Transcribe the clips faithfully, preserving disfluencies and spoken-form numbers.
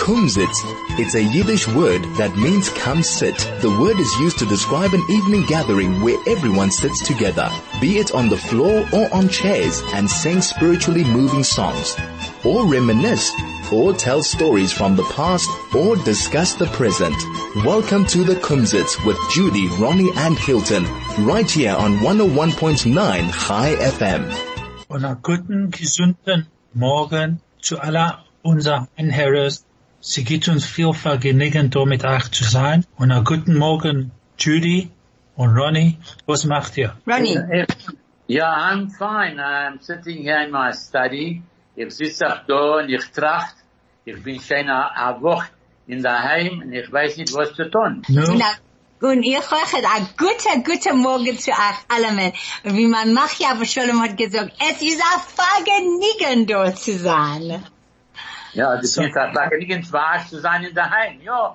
Kumsitz. It's a Yiddish word that means come sit. The word is used to describe an evening gathering where everyone sits together, be it on the floor or on chairs, and sing spiritually moving songs, or reminisce, or tell stories from the past, or discuss the present. Welcome to the Kumsitz with Judy, Ronnie and Hilton, right here on one oh one point nine Chai F M. Und einen guten, gesunden Morgen zu aller unserer Anhörer. Sie gibt uns viel Vergnügen, da mit euch zu sein. Und einen guten Morgen, Judy und Ronnie. Was macht ihr? Ronnie. Yeah, I'm fine. I'm sitting here in my study. Ich sitze auch da und ich tracht. Ich bin schon eine Woche in der Heim und ich weiß nicht, was zu tun. No. Und ich sage einen guten, guten Morgen zu euch allen. Und wie mein Machia Shalom hat gesagt, es ist ein Vergnügen, dort zu sein. Ja, das ist ein Vergnügen, wahr zu sein in der Heim, ja.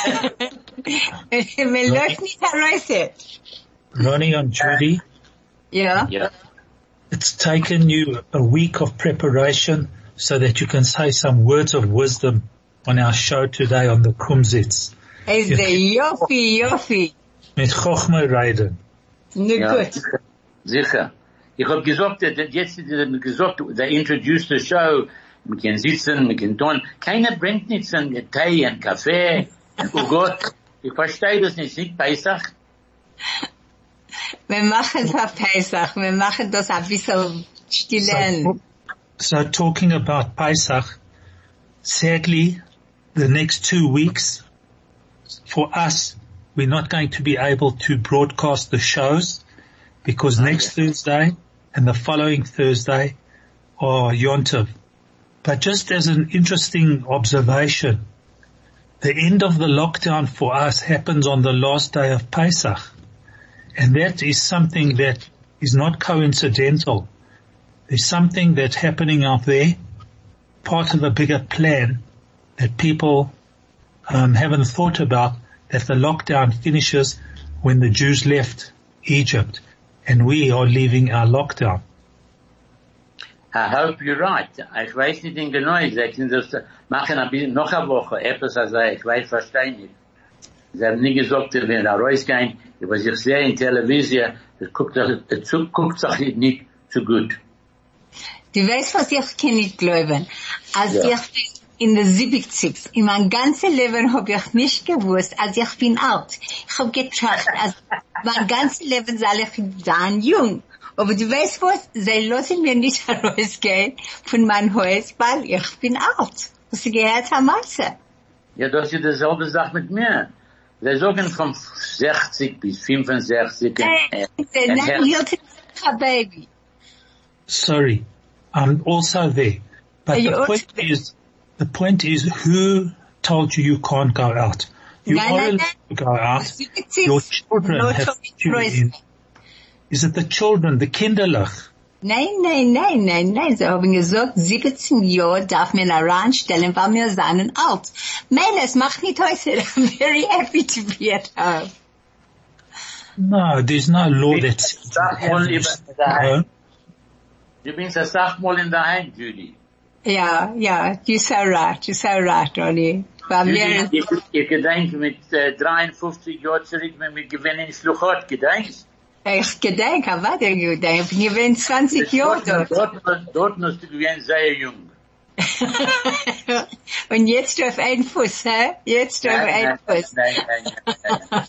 Wir läuft nicht heraus. Ronnie and Judy. Yeah. Yeah. It's taken you a week of preparation so that you can say some words of wisdom on our show today on the Kumsitz. Es ist der Joffi, Joffi. Mit Chochme reden. Nu Ja, gut. sicher. sicher. Ich hab gesagt, dass jetzt äh, gesagt, they introduced the show, wir können sitzen, wir können tun. Keiner bringt nichts an Tee und Kaffee. Oh Gott, ich verstehe das nicht, nicht Pesach. Wir machen es auf Pesach, wir machen das ein bisschen stillen. So, so talking about Pesach, sadly, the next two weeks, for us, we're not going to be able to broadcast the shows because next Thursday and the following Thursday are Yom Tov. But just as an interesting observation, the end of the lockdown for us happens on the last day of Pesach. And that is something that is not coincidental. There's something that's happening out there, part of a bigger plan that people um, haven't thought about, that the lockdown finishes when the Jews left Egypt and we are leaving our lockdown. I hope you're right. Ich weiß nicht in genau, sie können das machen ein bisschen noch eine Woche, etwas als ich weiß, verstehe nicht. Sie haben nie gesagt, wenn wir rausgehen, was ich sehe in Television, es guckt, es guckt sich nicht so gut. Du weißt, was ich kann nicht glauben. Als Ja. ich in der siebzig, in mein ganzes Leben habe ich nicht gewusst, als ich bin alt. Ich habe gedacht, als mein ganzes Leben soll ich sein jung. Aber du weißt was? Sie lassen mir nicht herausgehen von meinem Haus, weil ich bin alt. Hast du gehört, Herr Matze? Ja, das ist dieselbe Sache mit mir. Sie sagen von sechzig bis fünfundsechzig. Hey, nein, Hilton, ein Baby. Sorry, I'm also there. But Are you the also point there? is, the point is who told you you can't go out? You Nein, are nein, allowed nein. to go out. siebzig, Your children no have talking to Preußen. in. Is it the children, the Kinderlach? Nein, nein, nein, nein, nein. Sie haben gesagt, siebzehn Jahre darf man heranstellen, weil wir seien alt. Meine, es macht nicht heute. I'm very happy to be at home. No, there's no law that Sag mal lieber in der Heim. Du bist eine Sache mal in der Heim, Judy. Ja, ja, you're so right, you're so right, Ronnie. Weil wir, Judy, ich, ich gedenke mit äh, dreiundfünfzig Jahren zurück, wenn wir gewinnen in Schluchot, gedenkst? ich gedenke, was der gedenkt, ich bin zwanzig Jahre dort. Dort, dort musst du gewinnen sehr jung. Und jetzt auf einen Fuß, hä? Jetzt auf einen Fuß. Nein, nein, nein, nein.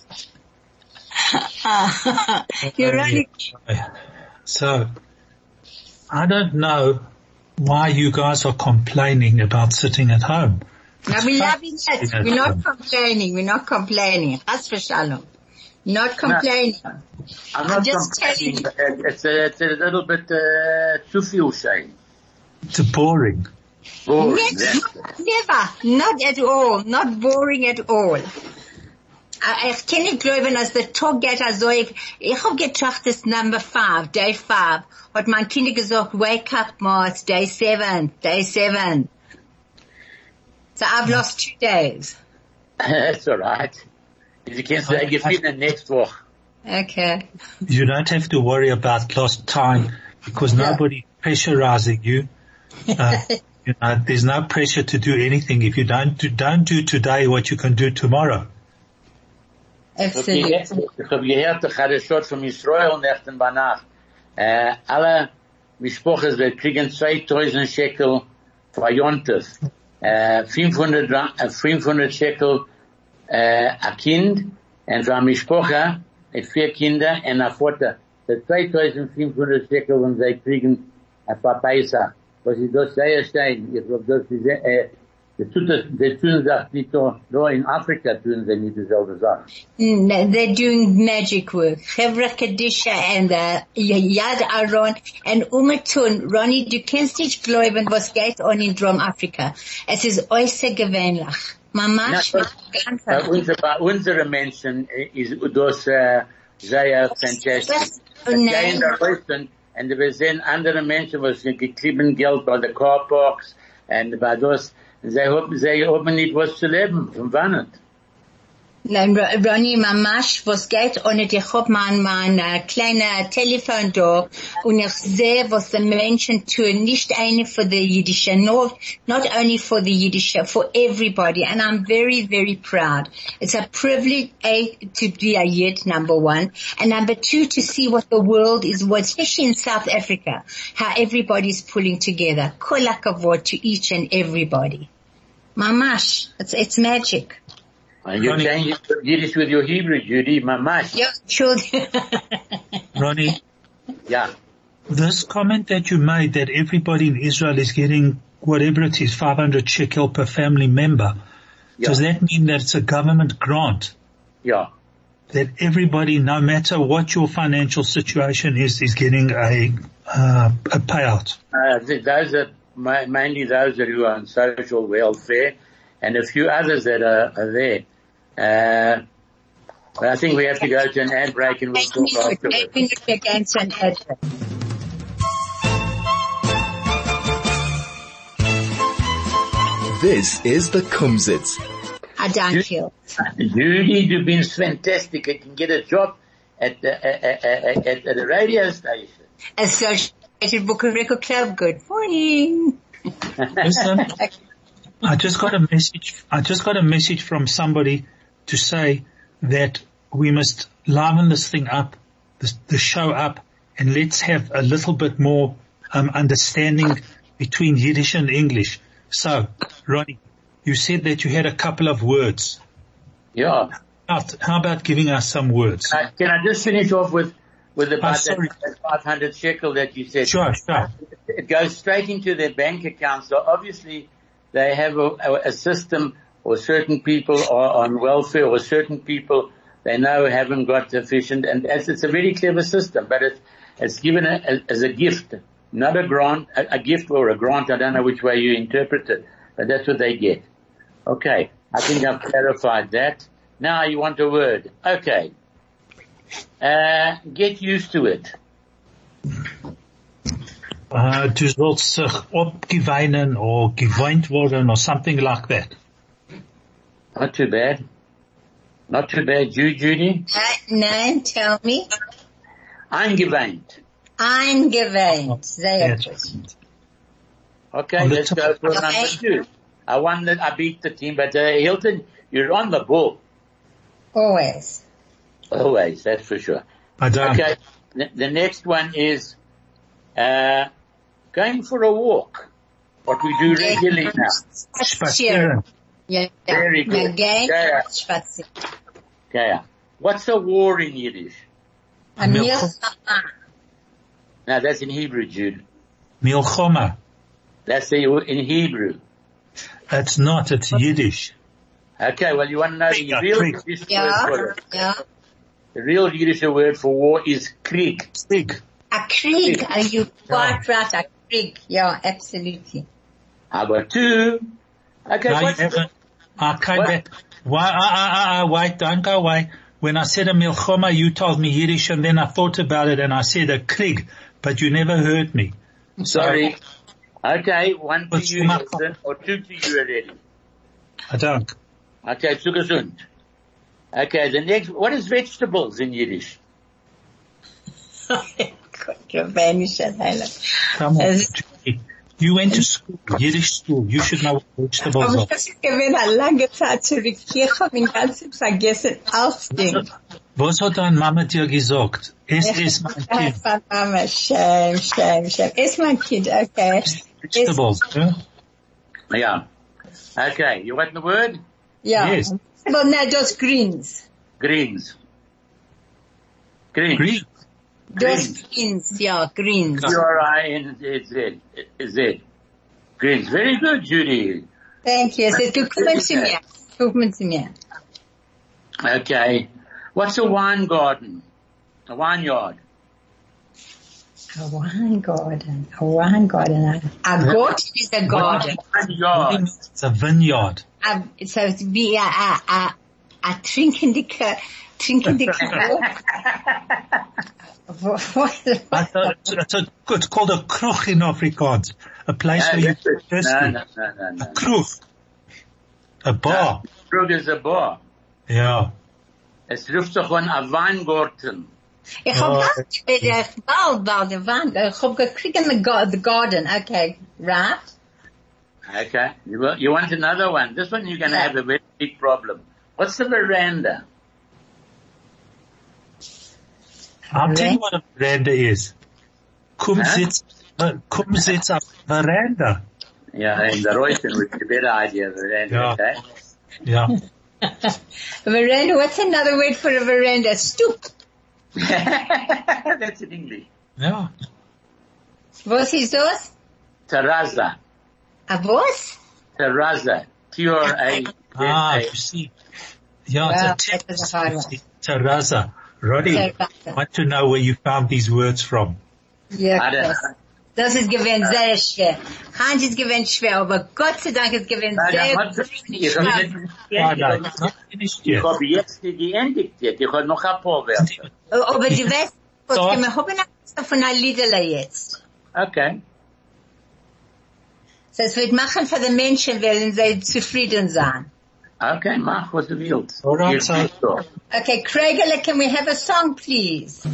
You're really, So, I don't know why you guys are complaining about sitting at home. no, we love it. Sitting at We're not home. complaining, we're not complaining. As for Shalom. Not complaining. I'm not just complaining, telling but it's a, it's a little bit uh, too viel shame. It's boring. Boring, Yes, that's- never, not at all, not boring at all. I, ich kann nicht glauben, als der Tag geht, also ich, ich hab gedacht, das Number five, Day five, hat mein Kind gesagt, wake up, Ma, it's Day seven, Day seven. So I've lost two days. That's all right. You can say gewinnen next Woche. Okay. You don't have to worry about lost time because Yeah. nobody pressurizing you. Uh, you know, there's no pressure to do anything. If you don't do, don't do today what you can do tomorrow. Absolutely. Ich habe gehört, der Chareshot von Israel nächten bei Nacht. Äh, alle Mischpoches, wir kriegen zweitausend Shekel für Jontef. Äh, fünfhundert, äh, fünfhundert Shekel, äh, ein Kind. Und für eine Mischpoche, mit vier Kinder und ein Vater. Das zweitausendfünfhundert Shekel, und sie kriegen ein paar Paisa. Was ist das sehr stein? Ich glaube, das ist, äh, das tut das, das tun sie nicht so, nur in Afrika tun sie nicht dieselbe Sache. No, they're doing magic work. Chevra Kadisha and uh, Yad Aron and Umatun. Ronnie, du kennst nicht glauben, was geht on in Drum Afrika. Es ist äußerst gewöhnlich. Mamash, ganz bei, unser, bei unseren Menschen ist das äh, sehr fantastisch. Nein. Und wir sehen andere Menschen, was gekriegen Geld bei der Carparks und bei das, sie haben, sie haben nicht was zu leben, von wann? Nein, Ronnie, Mamash, was geht ohne, ich hab mein, mein uh, kleiner Telefon da und ich sehe, was die Menschen tun, nicht eine für die Jüdische, not, not only for the Jüdische, for everybody, and I'm very, very proud. It's a privilege, A, to be a Yid, number one, and number two, to see what the world is, what, especially in South Africa, how everybody's pulling together. Kol hakavod to each and everybody. Mamash, it's, it's magic. And you change Yiddish with your Hebrew, Judy, mamash. Yeah, sure. Ronnie, Yeah. this comment that you made that everybody in Israel is getting whatever it is, five hundred shekel per family member, Yeah. does that mean that it's a government grant? Yeah. That everybody, no matter what your financial situation is, is getting a, uh, a payout? Uh, th- those are ma- mainly those that who are on social welfare and a few others that are, are there. Uh, but I think we have to go to an ad break and we'll talk afterwards. Against an ad. This is the Kumsitz. I don't you. Judy, you've been fantastic. You can get a job at the, uh, uh, uh, at, at the radio station. Associated Book and Record Club. Good morning. Listen, I just got a message, I just got a message from somebody to say that we must liven this thing up, the, the show up, and let's have a little bit more um, understanding between Yiddish and English. So, Ronnie, you said that you had a couple of words. Yeah. How, how about giving us some words? Uh, can I just finish off with, with about Oh, that, that five hundred shekel that you said? Sure, sure. It goes straight into their bank account. So obviously they have a, a, a system, or certain people are on welfare, or certain people they know haven't got sufficient, and it's, it's a very clever system, but it's, it's given a, a, as a gift, not a grant, a, a gift or a grant. I don't know which way you interpret it, but that's what they get. Okay. I think I've clarified that. Now you want a word. Okay. Uh, get used to it. Uh, du sollst sich abgewöhnen or gewöhnt worden or something like that. Not too bad. Not too bad. You, Judy? Nein, tell me. Eingewöhnt. Eingewöhnt. Sehr Yes. gut. Okay, On the let's top. go for Okay. number two. I won that, I beat the team, but uh, Hilton, you're on the ball. Always. Always, that's for sure. I don't. Okay, the, the next one is, uh, going for a walk. What we do regularly now. Spazieren. Yeah. Very good. Again, Yeah. spazieren. Okay. What's a war in Yiddish? A milchama. Now that's in Hebrew, Jude. Milchoma. That's the, in Hebrew. It's not, it's Yiddish. Okay, well you want to know the Krieg, real Krieg. Yiddish word Yeah, for it. yeah. The real Yiddish word for war is Krieg. Krieg. A Krieg. Are you quite right? A Krieg. Yeah, absolutely. I got two. Okay, No, you what's haven't. I came What? back. Why, ah, ah, ah, ah, wait, don't go away. When I said a milchoma, you told me Yiddish, and then I thought about it and I said a Krieg, but you never heard me. So, Sorry. Okay, one to What's you, my- Hilton, or two to you already. I don't. Okay, zu gesund. Okay, the next, what is vegetables in Yiddish? Gott, Rabbeinischer Heiland. Come on. Es- Judy. You went to school, Yiddish school. You should know what vegetables Aber are. das ist gewesen eine lange Zeit zurück. Ich habe ihn ganz vergessen, alles Ding. Was hat deine Mama dir gesagt? Es ist mein Kind. Mama, shame, shame, shame. It's my kid, okay. Vegetables, yeah? Yeah. Okay, you want the word? Yeah. Yes. Well, no, just greens. Greens. Greens. Green. Just greens, yeah, greens. G R I N Z. Z. Greens. Very good, Judy. Thank you. Es ist gekommen zu mir. Gekommen zu mir. Okay. What's a wine garden? A vineyard. A wine garden. A wine garden. A garden is a garden. Vineyard. It's a vineyard. A, so it's be a, a, a, a trinkende, trinkende I thought it's, it's, a, it's called a kroeg in Afrikaans. A place No, where you that's it. thirsty. no, no, no, no, A no. kroeg. A bar. Krug is a bar. Yeah. Es ruft sich an a Weingarten. Ich hab bald, bald, bald, the Wand. Ich hab gekriegt in the, gar- the garden. Okay, right? Okay. You, will, you want another one? This one you're going to Yeah. have a very big problem. What's the veranda? I'll tell you what a veranda is. Komm Huh? sitz, uh, komm sitz auf veranda. Yeah, in the Reuten would be a better idea, veranda, Yeah. okay? Yeah. A veranda, what's another word for a veranda? Stoop. That's in English. Yeah. Was ist das? Terrazza. A was? Terrazza. T R A Z Ah, A. you see. Yeah, Well, it's a that was a hard one. terrazza. Roddy, Terrazza. I want to know where you found these words from. Ja, I don't das, das ist gewesen sehr schwer. Hans ist gewesen schwer, aber Gott sei Dank ist gewesen Nein, sehr das hat- ich schwer. habe nicht Ah, no, geendigt. it's not finished Ich yet. habe jetzt geendigt jetzt. Ich habe noch ein paar Wörter. Aber du weißt, was So. wir haben noch von einer Liederle jetzt. Okay. So, es wird machen für die Menschen, wenn sie zufrieden sein. Okay, mach, was du willst. All right, Hier so- bist du. Okay, Craigele, can we have a song, please?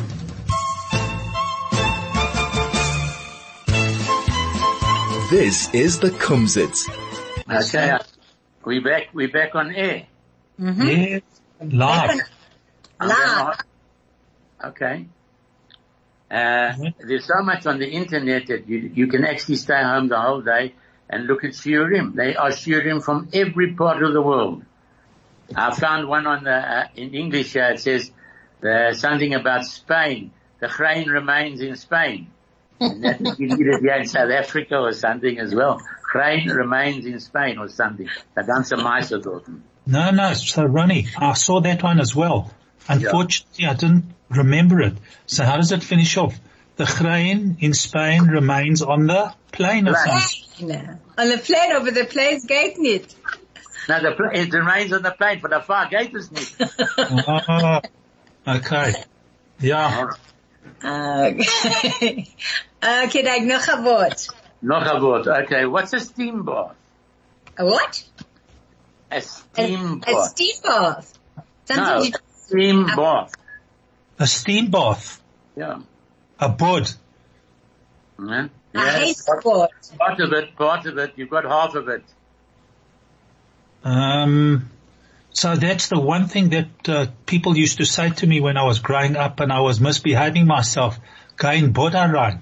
This is the Kumsitz. Okay. We back, we back on air. Yes. Live. Live. Okay. Uh, there's so much on the internet that you, you can actually stay home the whole day and look at shiurim. They are shiurim from every part of the world. I found one on the, uh, in English, uh, it says, uh, something about Spain. The Chrein remains in Spain. And that you need it here in South Africa or something as well. Chrein remains in Spain or something. The ganze Meister dort. No, no. So, Ronnie, I saw that one as well. Unfortunately, I didn't remember it. So how does it finish off? The Chrein in Spain remains on the plane or something. No. On the plane, over the plane's gate nicht. Now the pla- it remains on the plane, but the far gate is nicht. Ah, okay. Yeah. Okay. Okay, dan nog een woord. Noch a word. Okay, what's a steam bath? A what? A A, steam a bath. steam bath. Something No, you, steam bath. A steam bath. Yeah. A bod. Yeah. I hate Yes. sport. Part of it, part of it, you've got half of it. Um, so that's the one thing that uh, people used to say to me when I was growing up and I was misbehaving myself. Going boda rein.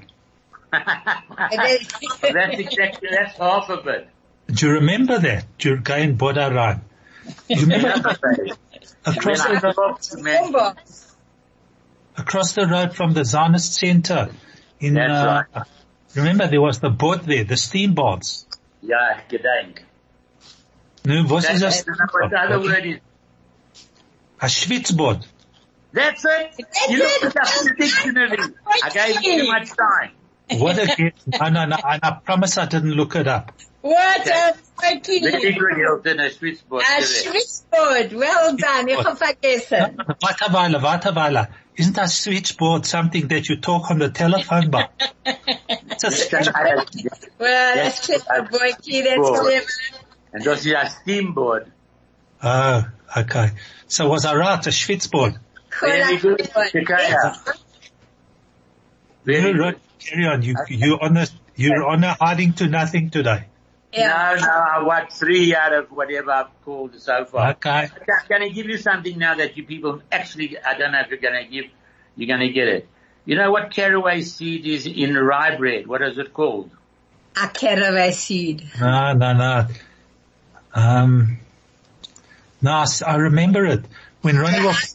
That's exactly, that's half of it. Do you remember that? Do you going boda rein? You remember across When I the road, talk to men- across the road from the Zionist Center in, That's uh, remember there was the bod there, the steam baths. Yeah, gedenk. No, was is That's, a, what the other word is. a schwitzbod. That's it. That's You looked it. it up in the dictionary. I gave you too much time. What again? No, no, no, and I promise I didn't look it up. What a Very fucking, good, Hilton, a switchboard. a switchboard. Well done. Ich hab vergessen. Warte Weile, warte Weile. Isn't that switchboard something that you talk on the telephone by? It's a Well, that's clever, boyki. That's clever. And das ist a steamboard. Oh, okay. So was I right? A schwitzboard? Very good. Shikaya. Very No, good. right. Carry on. You, you on the You're on a hiding to nothing today. No, no, I want three out of whatever I've called so far. Okay. I'm going to give you something now that you people actually, I don't know if you're going to give, you're going to get it. You know what caraway seed is in rye bread? What is it called? A caraway seed. No, no, no. Um, no, I s- I remember it. When Ronnie was,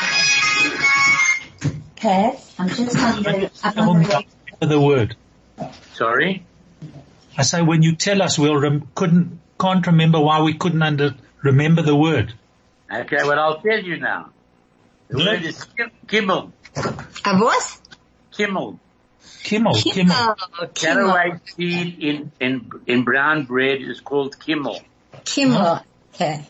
Okay, I'm just on the, I'm on Someone the, can't remember the word. Sorry? I say when you tell us, we'll rem- couldn't, can't remember why we couldn't under, remember the word. Okay, well I'll tell you now. The Yeah. word is kim- kimmel. a what? Kimmel. Kimmel, Kimmel. Kimmel. Caraway seed in, in, in brown bread is called kimmel. Kimmel. Okay.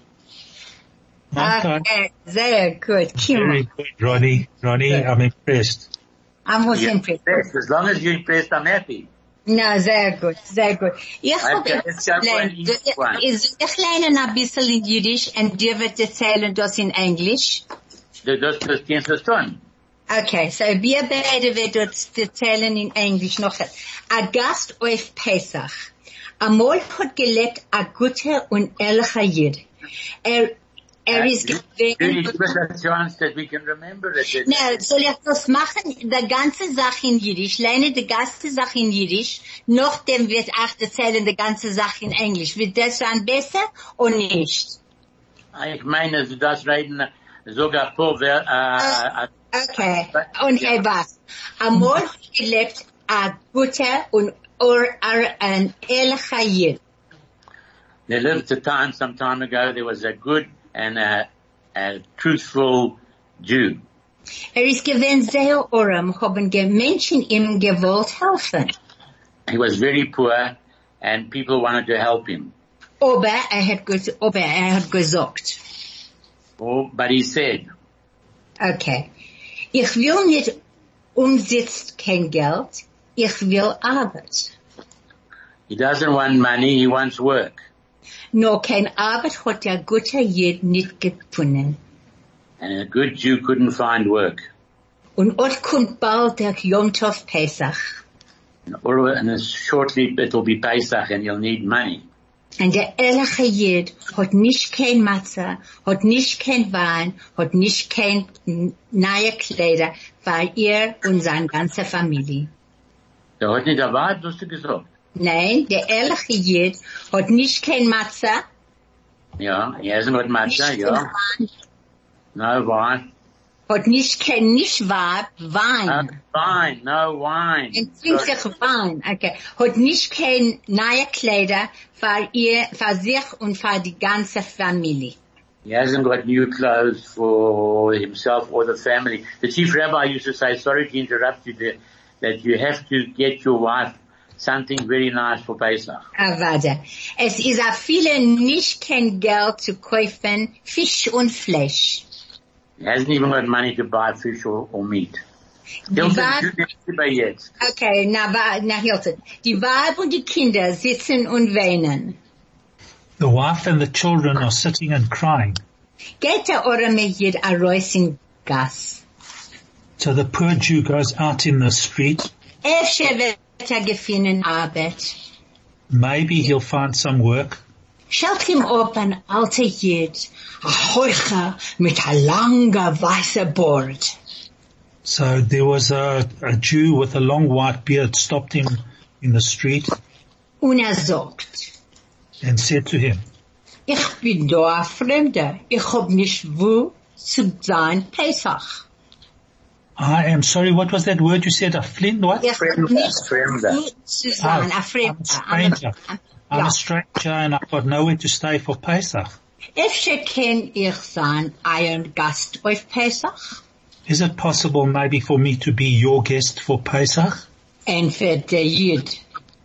Okay. Okay, very good. Kimmel. Very good, Ronnie. Ronnie, I'm impressed. I was Yeah, impressed. yes, as long as you're impressed, I'm happy. No, sehr gut, sehr gut. Ich hab Okay, let's go for an easy one. ich lerne ein bisschen in Jiddisch und dir wird erzählen das in Englisch. Das, das, das kennst du schon. Okay, so wir beide werden das erzählen in Englisch noch. A Gast auf Pesach. Amol hat gelebt a guter und ehrlicher Jid. Er, er ist Really, gewesen. give us a chance that we can remember it. Na, soll ich das machen? Die ganze Sache in Jiddisch. Lerne die ganze Sache in Jiddisch. Nachdem wird auch erzählen die ganze Sache in Englisch. Wird das dann besser oder nicht? Ich meine, du darfst reden sogar vor, wer, äh, äh, Okay. Und hey, was? Amol hat gelebt a guter und or, or, ein ehrlicher Jid. there lived a time, some time ago, there was a good and a, a truthful Jew. Er ist gewesen sehr arm, haben ge- Menschen ihm gewollt helfen. He was very poor and people wanted to help him. Aber er hat, ges- aber er hat gesagt, Oh, but he said, okay, ich will nicht umsitzt kein Geld, ich will Arbeit. he doesn't want money, he wants work. Nur kein Arbeit hat der gute Jid nicht gefunden. And a good Jew couldn't find work. Und ot kommt bald der Yom Tov Pesach. And all- and shortly it'll be Pesach and you'll need money. Und der ehrliche Jid hat nicht kein Matze, hat nicht kein Wein, hat nicht kein n- neue Kleider für ihr und seine ganze Familie. Der hat nicht erwartet, was du gesagt. Nein, der ehrliche Jid hat nicht kein Matze, Ja, he hasn't got much, nicht kein ja. Wein, No wine. hat nicht kein, nicht wahr, No Wein. wine, no wine. Ein trinklicher Wein, okay. Hat nicht kein neue Kleider für ihr, für sich und für die ganze Familie. He hasn't got new clothes for himself or the family. The chief rabbi used to say, sorry to interrupt you there, that you have to get your wife something very nice for Pesach. Ah, warte. Es ist auch viele nicht kein Geld zu kaufen, Fisch und Fleisch. He hasn't even got money to buy fish or, or meat. Die Hilton, Weib, du nimmst bei jetzt. okay, na, wa- na, Hilton. Die Weib und die Kinder sitzen und weinen. The wife and the children are sitting and crying. Geht der arme Jid a raus in Gas. So the poor Jew goes out in the street. Efter wird er gefunden Arbeit. Maybe he'll find some work. Schaut ihm ab ein alter Jid, a Heucher mit a langer weißer Bord. So there was a, a Jew with a long white beard stopped him in the street Und er sagt, and said to him, ich bin da ein Fremder, ich hab nicht wo zu sein Pesach. I am sorry, what was that word you said? A flint, what? Ich hab Fremder, nicht Fremder. wo zu sein, ein I'm a Fremder. stranger. I'm Ja. a stranger and I've got nowhere to stay for Pesach. Efter kann ich sein ein Gast auf Pesach? Is it possible maybe for me to be your guest for Pesach? Entweder der Jid.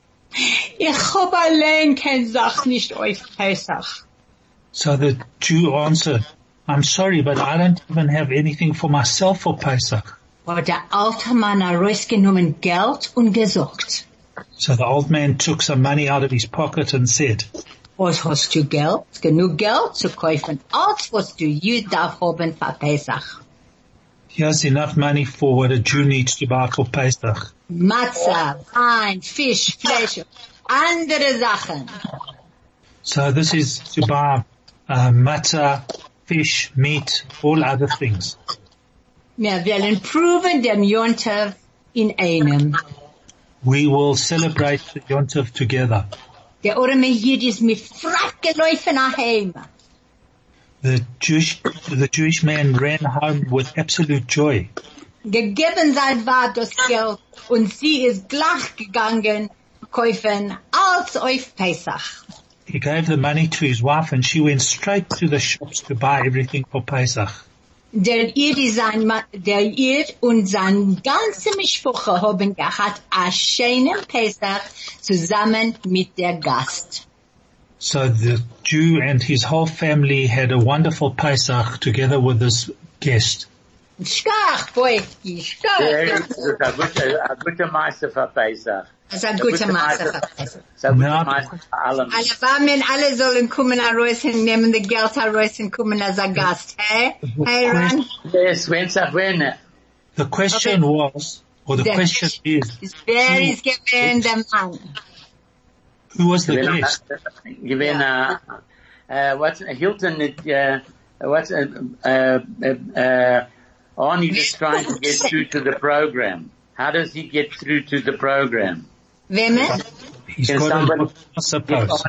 Ich hab allein kein Sach nicht auf Pesach. So the Jew answered, I'm sorry, but I don't even have anything for myself for Pesach. Hat der alte Mann herausgenommen Geld und gesagt, So the old man took some money out of his pocket and said, was hast du Geld? Genug Geld zu kaufen, als was du Jid darf haben für Pesach. Here's enough money for what a Jew needs to buy for Pesach. Matzah, wine, fish, flesh, andere Sachen. So this is to buy uh, matzah, fish, meat, all other things. Wir wollen proven dem Yontov in einem. We will celebrate the Yontov together. Der arme Jid ist mit Frack gelaufen nach Hause. The Jewish, the Jewish man ran home with absolute joy. Gegeben sein war das Geld und sie ist gleich gegangen kaufen als auf Pesach. He gave the money to his wife and she went straight to the shops to buy everything for Pesach. Der Jid, sein, der Jid und sein ganze Mischwoche haben gehabt einen schönen Pesach zusammen mit der Gast. So the Jew and his whole family had a wonderful Pesach together with this guest. Schkach, Boyki, schkach. Das ist ein guter, ein guter Meister für Pesach. Das ist ein guter Meister für Pesach. Das ist ein guter Meister für allem. Alle Warmen, alle sollen kommen heraus und nehmen das Geld heraus und kommen als ein Gast. Hey? Hey, Ron? Yes, wenn's auch wenn. The question Okay. was, or the The question is, Wer ist gewesen der Mann? who was the guest? Given, uh, uh, what's, Hilton, uh, what's, uh, uh, uh, Arnie is trying to get through to the program. How does he get through to the program? Wem? He's Can got somebody- a, I suppose.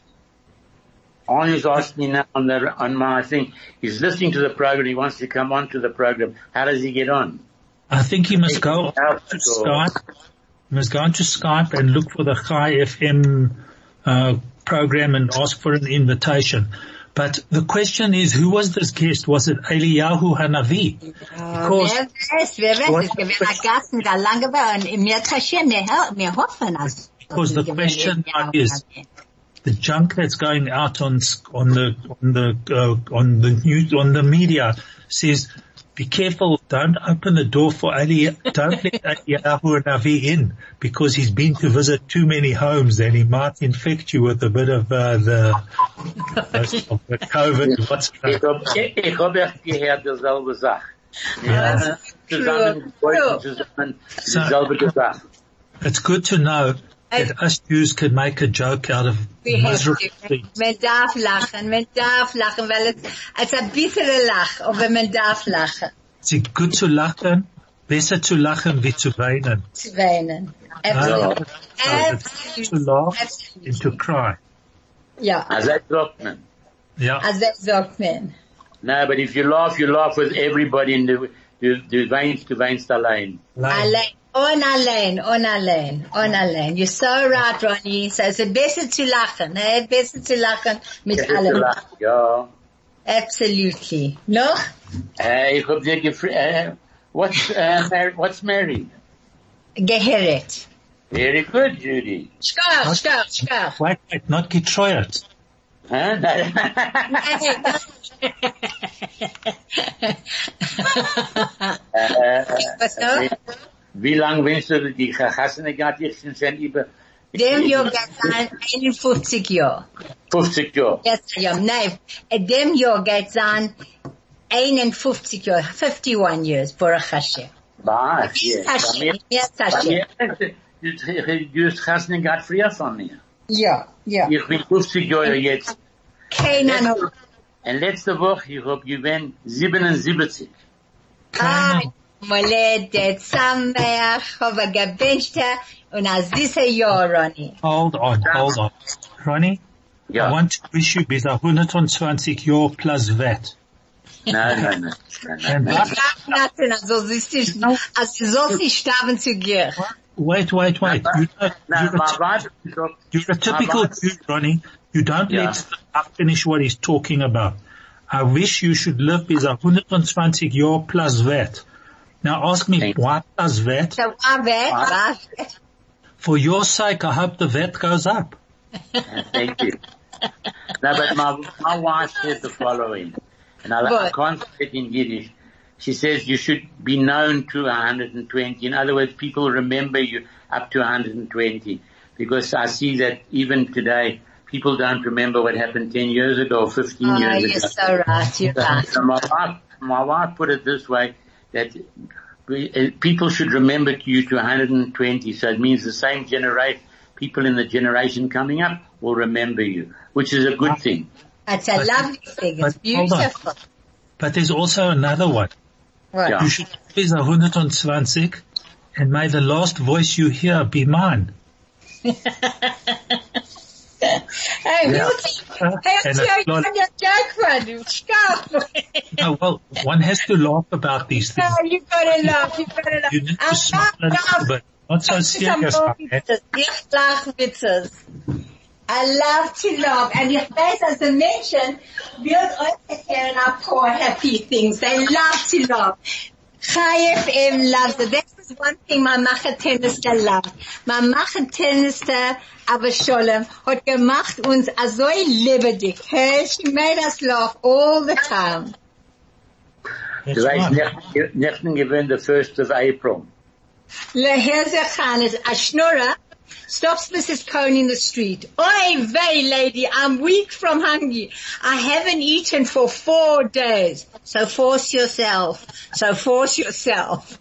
Arnie's asking me now on the, on my thing. He's listening to the program. He wants to come on to the program. How does he get on? I think he must go Out to the door. Skype. He must go onto Skype and look for the Chai F M uh, program and ask for an invitation. But the question is, who was this guest? Was it Eliyahu Hanavi? Because Wer weiß, wer weiß, es gewesen ein Gast mit einer langen Beine. Und wir kaschieren, wir, wir hoffen, als Because the question is, the junk that's going out on on the on the uh, on the news on the media says, be careful, don't open the door for Ali, don't let Eliyahu Hanavi in, because he's been to visit too many homes and he might infect you with a bit of uh, the, of the COVID. What's Ich hab, ich hab echt gehört dieselbe Sache. Ja, Ja, zusammen, zusammen, dieselbe gesagt. It's good to know that us Jews can make a joke out of miserable things. Man darf lachen, man darf lachen, weil es, es ist ein bisschen Lach, aber man darf lachen. It's good to lachen, besser zu lachen wie zu weinen. Zu weinen. No, Absolut. so it's to laugh and to cry. Ja, Also, das sagt man. Yeah. also sagt man. No, but if you laugh, you laugh with everybody in the, du, du weinst, du weinst allein. Allein, on allein, on allein, on allein. You're so right, Ronnie. So es ist besser zu lachen, eh? Besser zu lachen mit allem. Ja. Absolutely. Noch? Äh, ich hab dir gefragt, äh, what's, uh, married, what's married? Geheret. Very good, Judy. Schkach, schkach, schkach. Wait, wait, not getreuert. Huh? äh, Was noch? wie lang willst du die Chassene gehabt? Ich sind schon über Dem Jahr geht sein einundfünfzig Jahre. fünfzig Jahre. Jetzt, ja, nein. Dem Jahr geht sein einundfünfzig Jahre, fifty-one years, Baruch Hashem. Was? Yes. Hashem, yes, Bei Hashem. mir, du, du hast Chassene gehabt früher von mir. Ja, ja. Ich bin fünfzig Jahre jetzt. Keiner noch. Und letzte Woche, ich hab gewinnt siebenundsiebzig. Ah, Mollet, Dezember, habe gewünscht, und als dieses Jahr, Ronnie. Hold on, hold on. Ronnie, Ja. I want to wish you bis hundertzwanzig Jahr plus V A T. Nein, nein, nein. nein, nein, And nein. what? Lachen, also siehst du, also sollst nicht sterben zu dir. Wait, wait, wait. You don't, Nein, you're, my a, wife sagt, you're a typical my wife- Jew, Ronnie. You don't Yeah. let Stefan finish what he's talking about. I wish you should live bis hundertzwanzig Jahr plus V A T. Now ask me, Thank why plus V A T? So, war weg, war For your sake, I hope the V A T goes up. Thank you. No, but my, my wife said the following, and I, I What? can't say it in Yiddish. She says you should be known to one hundred twenty. In other words, people remember you up to one hundred twenty. Because I see that even today, people don't remember what happened ten years ago or fifteen Oh, years you're ago. so right, you're right. So my wife, my wife put it this way, that we, uh, people should remember you to one hundred twenty. So it means the same generation, people in the generation coming up will remember you, which is a good thing. It's a but, lovely thing. It's but, beautiful. But there's also another one. What? Yeah. You should please one hundred twenty, and may the last voice you hear be mine. Hey, Yeah. Wilkie. Uh, Hey, and I'm a lot- telling you a joke, man. Stop. No, well, one has to laugh about these things. No, you gotta laugh. You gotta laugh. You need to I'm smile a not little bit. Not so serious. Okay? Ich lach witzes. I love to laugh. And your face, as I mentioned, build us here in our poor happy things. They love to laugh. Chai F M loves it. That was one thing my Machetenister loved. My Machetenister, aber Sholem, hat gemacht uns so lebendig. Hey, she made us laugh all the time. That's Du weißt, right. nicht gewinnt the first of April. Lehezechan is a schnorrer. Stops Missus Cohn in the street. Oi vey, lady, I'm weak from hunger. I haven't eaten for four days. So force yourself. So force yourself.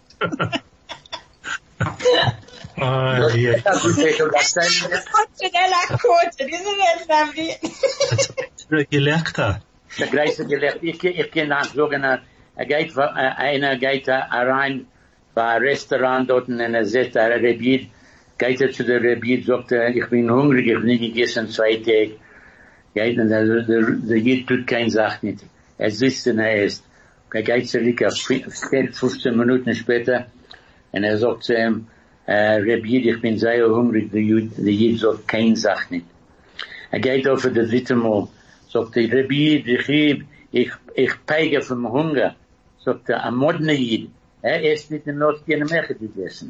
Oh, yeah. Fortunella quoted, isn't it lovely? It's a gelächter. Der Greiser gelegt, ich, ich kann auch sagen, er geht, einer geht rein bei ein Restaurant dort und er sagt, er Rebid, geht er zu der Rebid, sagt er, ich bin hungrig, ich habe nicht gegessen, zwei Tage. Geht, und der, der, der Jid tut keine Sache nicht. Er sitzt und er isst. Er geht zurück, zehn, fünfzehn Minuten später, und er sagt zu ihm, äh, Rebid, ich bin sehr hungrig, der Jid, der Jid sagt keine Sache nicht. Er geht auf das dritte Mal, sagt er, Rebid, ich, ich, ich peige vom Hunger. Sagt er, am moderne Jid, er isst nicht in Nord keine mehr gegessen.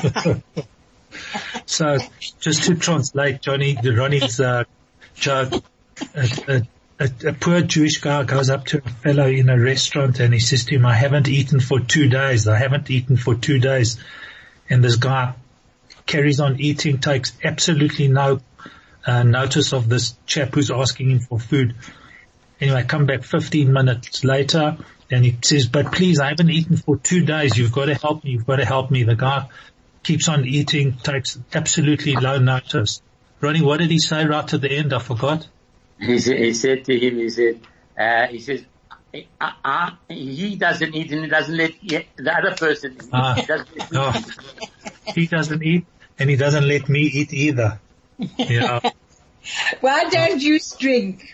So, just to translate Johnny, Ronnie's uh, joke, a, a, a, a poor Jewish guy goes up to a fellow in a restaurant and he says to him, I haven't eaten for two days. I haven't eaten for two days. And this guy carries on eating, takes absolutely no uh, notice of this chap who's asking him for food. Anyway, come back fifteen minutes later and he says, but please, I haven't eaten for two days. You've got to help me. You've got to help me. The guy keeps on eating, takes absolutely no notice. Ronnie, what did he say right at the end? I forgot. He said, he said to him, he said, uh, he says, uh, uh, he doesn't eat and he doesn't let the other person eat. Ah, He doesn't let no. He doesn't eat and he doesn't let me eat either. Yeah. Why don't you drink?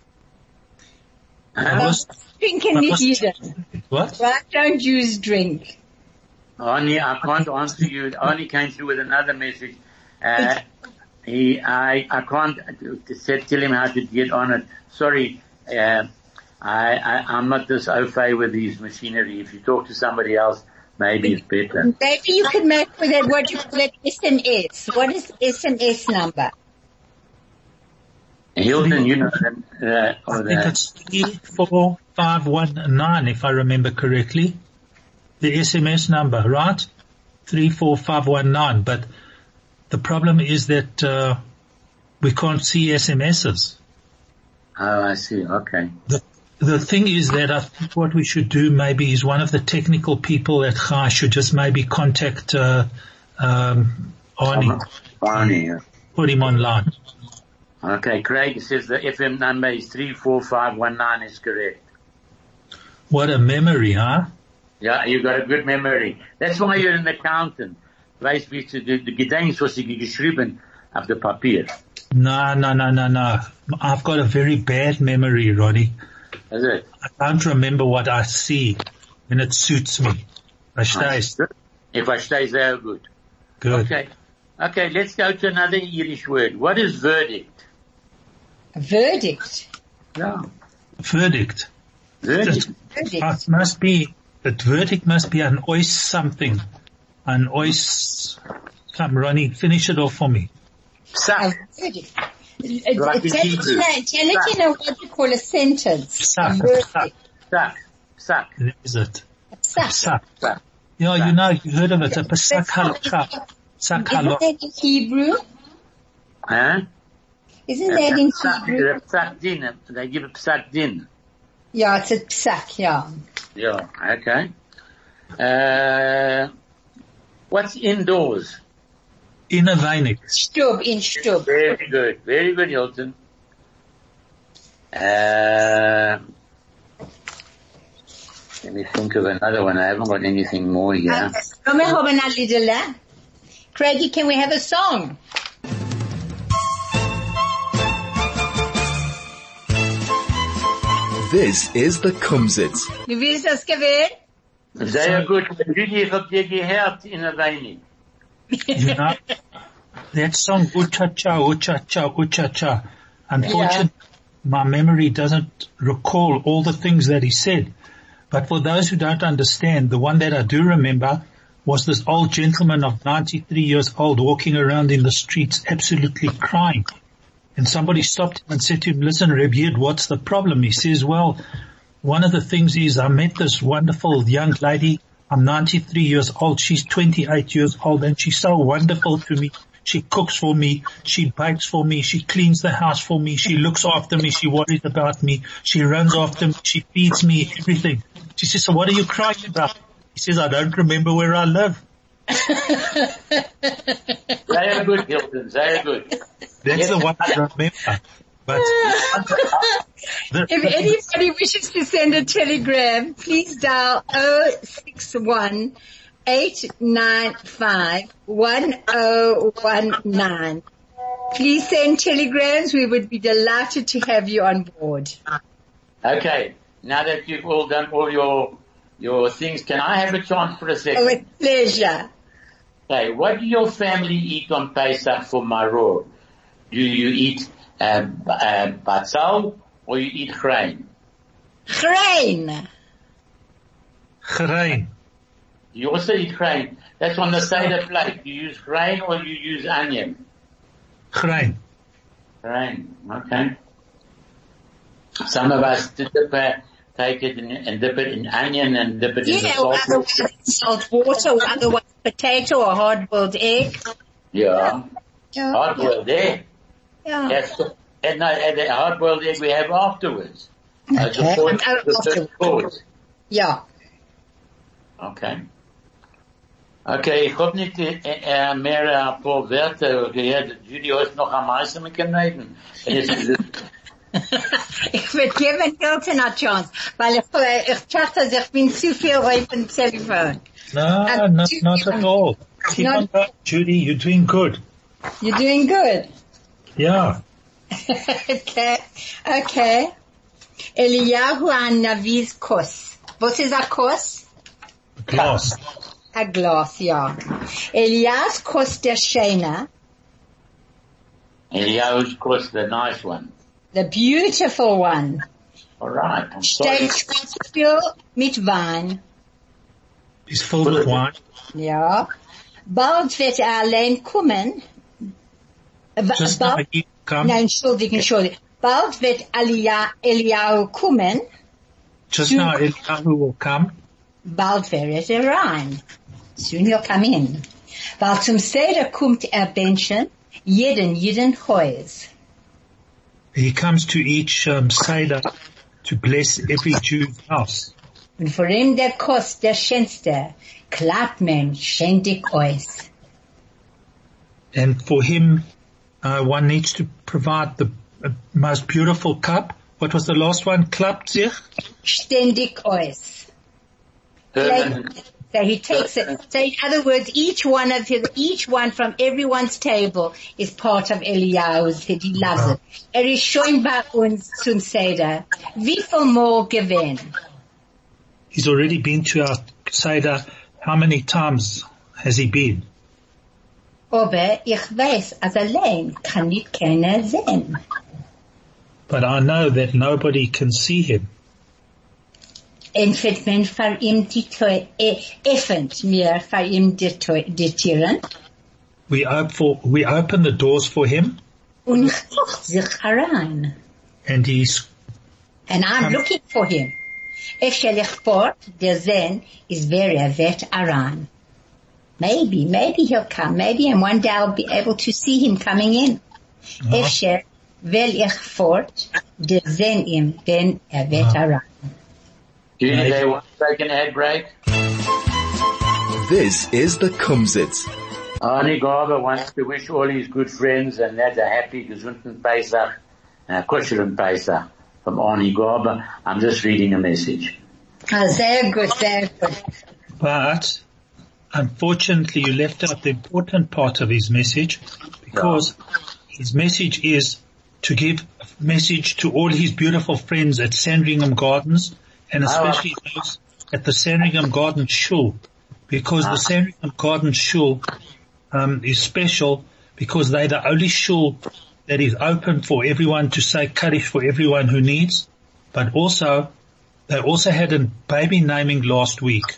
I was, Drinking I nicht was- jeder. what? Why don't you drink? Only, I can't answer you. Only came through with another message. Uh, he, I, I can't uh, say, tell him how to get on it. Sorry, uh, I, I, I'm not this au fait with his machinery. If you talk to somebody else, maybe it's better. Maybe you could make with it what you call it S M S. What is S M S number? Hilton, you know, uh, I or think the, it's three four five one nine, if I remember correctly. The S M S number, right? three four five one nine. But the problem is that, uh, we can't see S M Ses. oh, I see. Okay. The, the thing is that I think what we should do maybe is one of the technical people at Chai should just maybe contact, uh, um, Arnie, Barney, yeah. put him online. Okay, Craig says the F M number is three four five one nine is correct. What a memory, huh? Yeah, you got a good memory. That's why you're an accountant. Weißt wie du die Gedenkst, was ich geschrieben auf der Papier. No, no, no, no, no. I've got a very bad memory, Ronnie. Is it? I don't remember what I see when it suits me. Verstehst? Ich verstehe sehr gut. Good. Okay. Okay, let's go to another Yiddish word. What is verdict? A verdict. Yeah. Verdict. Verdict. Verdict. It must be, that verdict must be an ois something. An ois, come Ronnie, finish it off for me. A Psak. verdict. Like in Tell Hebrew. it in a what you call a sentence. A Psak, verdict. psak. Psak. Psak. Is it? A psak. Psak. Psak. Yeah, you know, you heard of it, a psak halakha. Psak Isn't halakha. that in Hebrew? Huh? Isn't that in Psak, Hebrew? a psak din. They give a psak din. Yeah, it's a psak, yeah. Yeah, okay. Uh, what's indoors? In a weinig. Stub, in Stub. Very good. Very good, Hilton. Uh, let me think of another one. I haven't got anything more here. Can we have a little, uh, Craigie, can we have a song? This is the Kumsitz. Wie willst du das gewählt? Sehr gut. Judy, ich hab dir gehört in der Weine. You know, that song, Ucha-cha, Ucha-cha, Ucha-cha. Unfortunately, yeah. my memory doesn't recall all the things that he said. But for those who don't understand, the one that I do remember was this old gentleman of ninety-three years old walking around in the streets absolutely crying. And somebody stopped him and said to him, listen, Reb Yid, what's the problem? He says, well, one of the things is I met this wonderful young lady. I'm ninety-three years old. She's twenty-eight years old and she's so wonderful to me. She cooks for me. She bakes for me. She cleans the house for me. She looks after me. She worries about me. She runs after me. She feeds me everything. She says, so what are you crying about? He says, I don't remember where I live. Very good, Hilton. Very good. That's yes. the one I remember. But the, if anybody wishes to send a telegram, please dial oh six one, eight nine five, one oh one nine. Please send telegrams. We would be delighted to have you on board. Okay. Now that you've all done all your your things, can I have a chance for a second? With pleasure. Okay. What do your family eat on Pesach for Maror? Do you eat uh, uh, batzal or you eat grain? Grain. Grain. You also eat grain. That's on the Seder plate. You use grain or you use onion? Grain. Grain. Okay. Some of us dip it, take it and, and dip it in onion and dip it yeah, in the salt. Yeah, otherwise salt water, or otherwise potato or hard-boiled egg. Yeah. yeah. Hard-boiled yeah. egg. Yeah. That's, and, no, and the hard-boiled egg we have afterwards. Okay. As a point, uh, the course. Yeah. Okay. Okay, ich hab nicht äh, mehr ein paar Wörter gehört. Judy, hast noch am meisten mit dem reden. Ich würde geben Hilton eine Chance, weil ich, ich dachte, ich bin zu viel auf dem Telefon. No, um, not, not at all. Keep not, on going, Judy. You're doing good. You're doing good. Yeah. okay. Okay. Eliyahu Hanavi's kos. What is a kos? Glass. A glass, yeah. Eliyahu's kos der Shena. Eliyahu's kos, the nice one. The beautiful one. All right. I'm sorry. Steht filled mit Wein. Is filled with wine. Ja. Bald wird er allein kommen. Just bald, now come. Nein, entschuldigung, entschuldigung. Bald wird Eliyahu kommen. Just now Eliyahu will come. Bald wird er rein. Soon he'll come in. Weil zum Seder kommt er Menschen, jeden, jeden Haus. He comes to each um, Seder to bless every Jew's house. Und vor ihm der Kost, der schönste, klappt man ständig aus. And for him, uh, one needs to provide the uh, most beautiful cup. What was the last one? Klappt sich? Ständig aus. Like, so he takes it. So in other words, each one of his, each one from everyone's table is part of Eliyahu's. He loves it. Er ist schon bei uns zum Seder. Wie viel more gewinn? He's already been to our Seder. How many times has he been? Aber ich weiß, als allein kann nicht keiner sehen. But I know that nobody can see him. Entweder man vor ihm die Tür, öffnet mir vor ihm die Türen. We open for, we open the doors for him. Und guckt sich herein. And he's. And I'm um, looking for him. If shall ich fort, der sehen, is wer er wird herein. Maybe, maybe he'll come. Maybe, and one day I'll be able to see him coming in. Uh-huh. If shall will ich fort, der sehen ihm, denn er wird uh-huh. herein. Do you need a one second ad break? This is the Kumsitz. Arnie Garber wants to wish all his good friends and that a happy, gesunden Pesach, a kuschelen Pesach from Arnie Garber. I'm just reading a message. Oh, sehr good, sehr good. But, unfortunately, you left out the important part of his message, because his message is to give a message to all his beautiful friends at Sandringham Gardens, and especially those at the Sandringham Gardens Shul, because the Sandringham Gardens Shul um, is special because they're the only shul that is open for everyone to say Kaddish for everyone who needs, but also they also had a baby naming last week.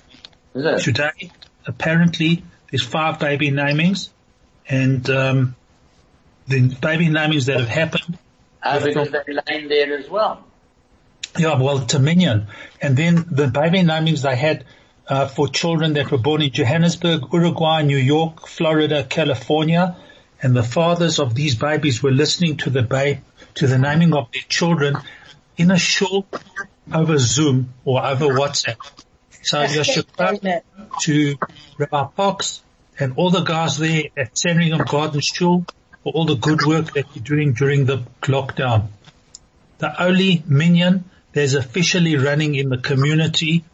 Today, apparently, there's five baby namings, and um, the baby namings that have happened. Oh, because they're laying there as well. Yeah, well, it's a minion. And then the baby namings they had uh, for children that were born in Johannesburg, Uruguay, New York, Florida, California, and the fathers of these babies were listening to the babe, to the naming of their children in a shul over Zoom or over WhatsApp. So Yashikra to Rabbi Fox and all the guys there at Sandringham Gardens Shul for all the good work that you're doing during the lockdown. The only minyan there's officially running in the community,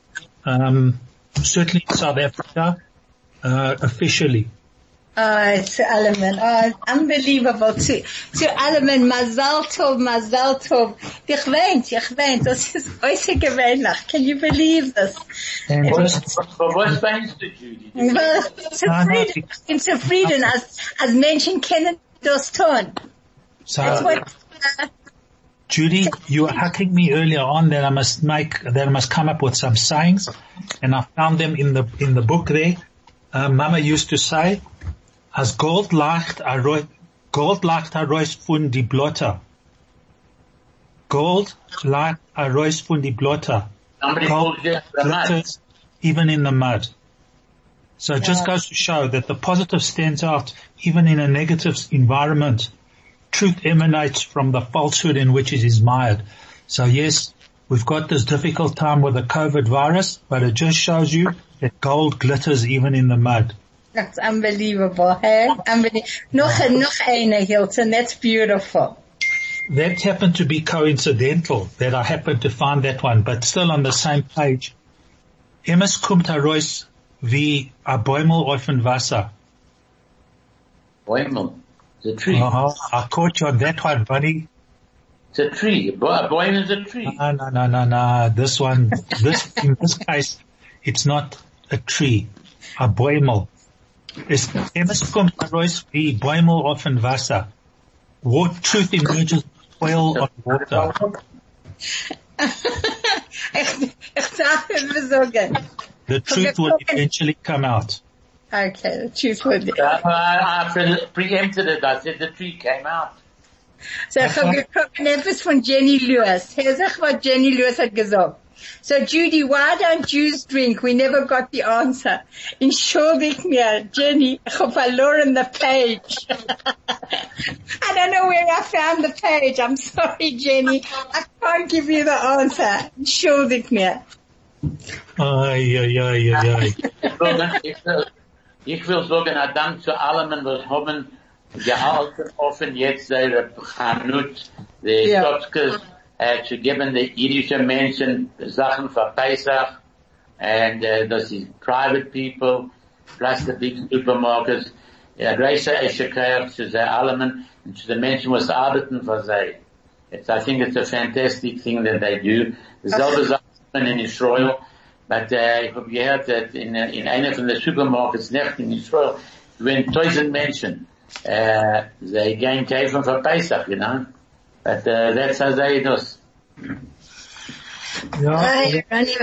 um, certainly in South Africa, uh, officially. Oh, it's Alleman. Oh, it's unbelievable. To, to Alleman, Mazal Tov, Mazal Tov. Ich weint, ich weint. Das ist äußerst gewöhnlich. Can you believe this? And just, But what weinst du, Judy? Well, zufrieden. Ich bin zufrieden, als, als Menschen kennen das tun. So, That's what, uh, Judy, you were hacking me earlier on that I must make, that I must come up with some sayings, and I found them in the, in the book there. Uh, Mama used to say, as gold lacht a roi, gold lacht a rois fun die blotter. Gold lacht a rois fun die blotter. Somebody Gold called you the mud. glitters even in the mud. So it just goes to show that the positive stands out even in a negative environment. Truth emanates from the falsehood in which it is mired. So yes, we've got this difficult time with the COVID virus, but it just shows you that gold glitters even in the mud. that's unbelievable, hey? Unbelievable. Noch, noch eine, Hilton. That's beautiful. That happened to be coincidental that I happened to find that one, but still on the same page. Emes kommt heraus wie a Bäumel auf dem Wasser. Bäumel. It's a tree. Uh-huh. I caught you on that one, buddy. It's a tree. A bäumel is a tree. No, no, no, no, no. This one, this, in this case, it's not a tree. A Bäumel. Es kommt heraus wie Bäumel auf dem Wasser. What truth emerges oil on water. ich, ich sage es sagen. The truth will eventually come out. Okay, the truth will be. I, I, I pre- preempted it. I said the tree came out. So ich habe geguckt etwas von Jenny Lewis. Hör sich, was Jenny Lewis hat gesagt. So Judy, why don't Jews drink? We never got the answer. Entschuldig mir, Jenny, ich habe verloren the page. I don't know where I found the page. I'm sorry, Jenny. I can't give you the answer. Entschuldig mir. Ay, ay, ay, ay, ay. Ich will, ich will sagen, ein Dank zu allen, was haben gehalten, offen jetzt ihre Chanut, die Ja. Stotskes, uh, zu geben den jüdischen Menschen Sachen für Pesach, and uh, das ist private people, plus the big supermarkets. Ja, Reise Esheker zu den allen und zu den Menschen, was arbeiten für sie. It's, I think it's a fantastic thing that they do. Selbe Sachen in Israel. But uh, ich habe gehört, dass in, in einer von den Supermarkets nicht in Israel, wenn tausend Menschen, uh, they gehen kaufen für Pesach, you know. But uh, that's how they do it. Ja, Ay,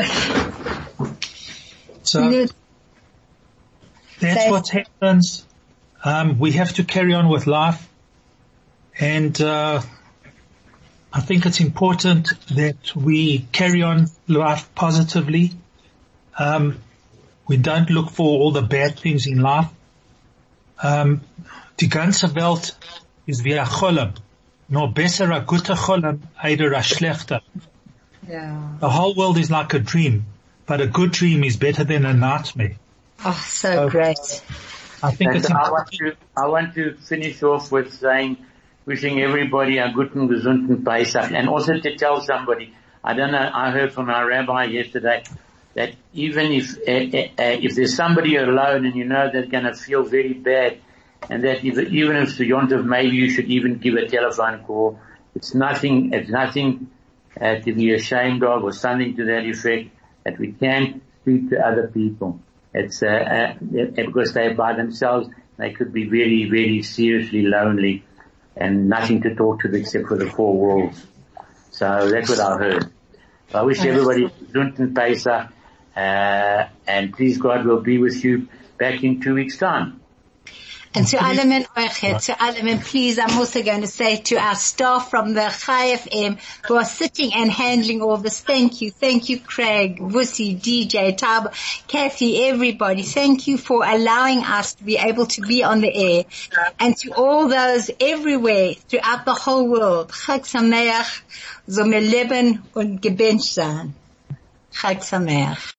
so that's what happens. Um, we have to carry on with life, and uh, I think it's important that we carry on life positively. Um, we don't look for all the bad things in life. Um, die ganze Welt ist wie ein Cholem. Nur besser a guter Cholem, eider a schlechter. Yeah. The whole world is like a dream, but a good dream is better than a nightmare. Oh, so great. I think And it's I want to, I want to finish off with saying, wishing everybody a guten, gesunden Pesach, and also to tell somebody, I don't know, I heard from our rabbi yesterday that even if, uh, uh, if there's somebody alone and you know they're going to feel very bad, and that if, even if it's Yom Tov, maybe you should even give a telephone call. It's nothing, it's nothing uh, to be ashamed of or something to that effect, that we can't speak to other people. It's, uh, uh, because they're by themselves, they could be very, very seriously lonely and nothing to talk to except for the four walls. So that's what I heard. So I wish everybody Gesunden Pesach, uh, and please God will be with you back in two weeks time. And to Alamin Oichet, to Alamin, please, I'm also going to say to our staff from the Chai F M who are sitting and handling all this, thank you. Thank you, Craig, Vusi, D J, Tab, Kathy, everybody. Thank you for allowing us to be able to be on the air. And to all those everywhere throughout the whole world, Chag Sameach, so me leben und gebencht sein. Chag Sameach.